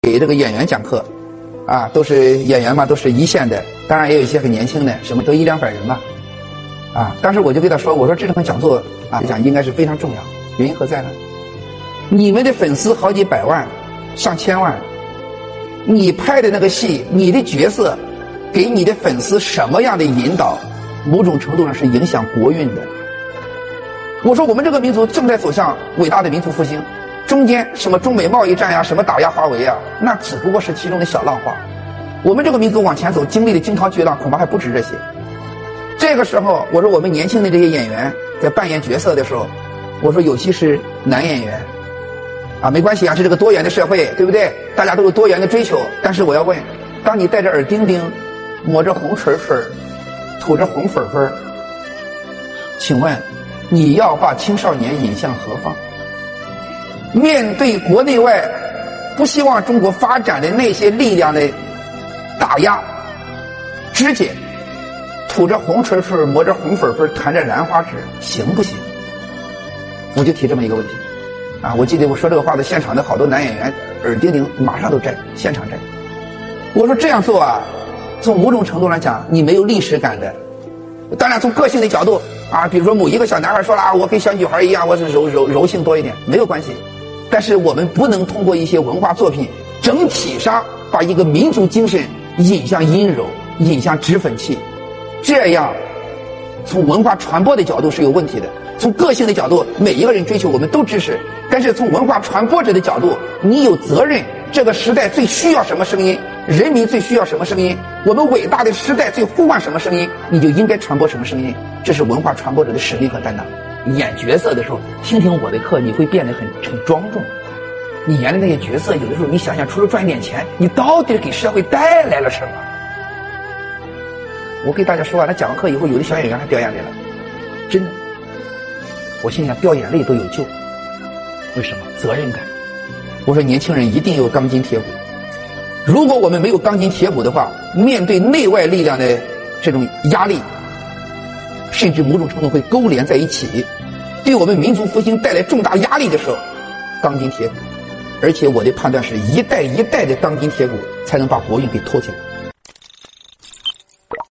给这个演员讲课，啊，都是演员嘛，都是一线的，当然也有一些很年轻的，什么都100-200人吧，啊，当时我就跟他说，我说这场讲座啊，讲应该是非常重要，原因何在呢？你们的粉丝好几百万、上千万，你拍的那个戏，你的角色给你的粉丝什么样的引导，某种程度上是影响国运的。我说我们这个民族正在走向伟大的民族复兴，中间什么中美贸易战呀，什么打压华为啊，那只不过是其中的小浪花。我们这个民族往前走，经历的惊涛巨浪恐怕还不止这些。这个时候，我说我们年轻的这些演员在扮演角色的时候，我说尤其是男演员，啊，没关系啊，是这个多元的社会，对不对？大家都有多元的追求。但是我要问，当你戴着耳钉钉，抹着红唇唇，吐着红粉粉，请问你要把青少年引向何方？面对国内外不希望中国发展的那些力量的打压、肢解，吐着红唇唇，抹着红粉粉，弹着兰花指，行不行？我就提这么一个问题啊！我记得我说这个话的现场的好多男演员耳钉钉马上都摘，现场摘。我说这样做啊，从某种程度来讲，你没有历史感的。当然从个性的角度啊，比如说某一个小男孩说了啊，我跟小女孩一样，我是柔性多一点，没有关系。但是我们不能通过一些文化作品整体上把一个民族精神引向阴柔，引向脂粉气，这样从文化传播的角度是有问题的。从个性的角度，每一个人追求我们都支持，但是从文化传播者的角度，你有责任，这个时代最需要什么声音，人民最需要什么声音，我们伟大的时代最呼唤什么声音，你就应该传播什么声音，这是文化传播者的使命和担当。演角色的时候，听听我的课，你会变得很庄重。你演的那些角色，有的时候你想想，除了赚点钱，你到底给社会带来了什么？我给大家说啊，他讲完课以后，有的小演员还掉眼泪了，真的。我心想，掉眼泪都有救，为什么？责任感。我说年轻人一定有钢筋铁骨，如果我们没有钢筋铁骨的话，面对内外力量的这种压力，甚至某种程度会勾连在一起，对我们民族复兴带来重大压力的时候，钢筋铁骨。而且我的判断是，一代一代的钢筋铁骨才能把国运给托起来。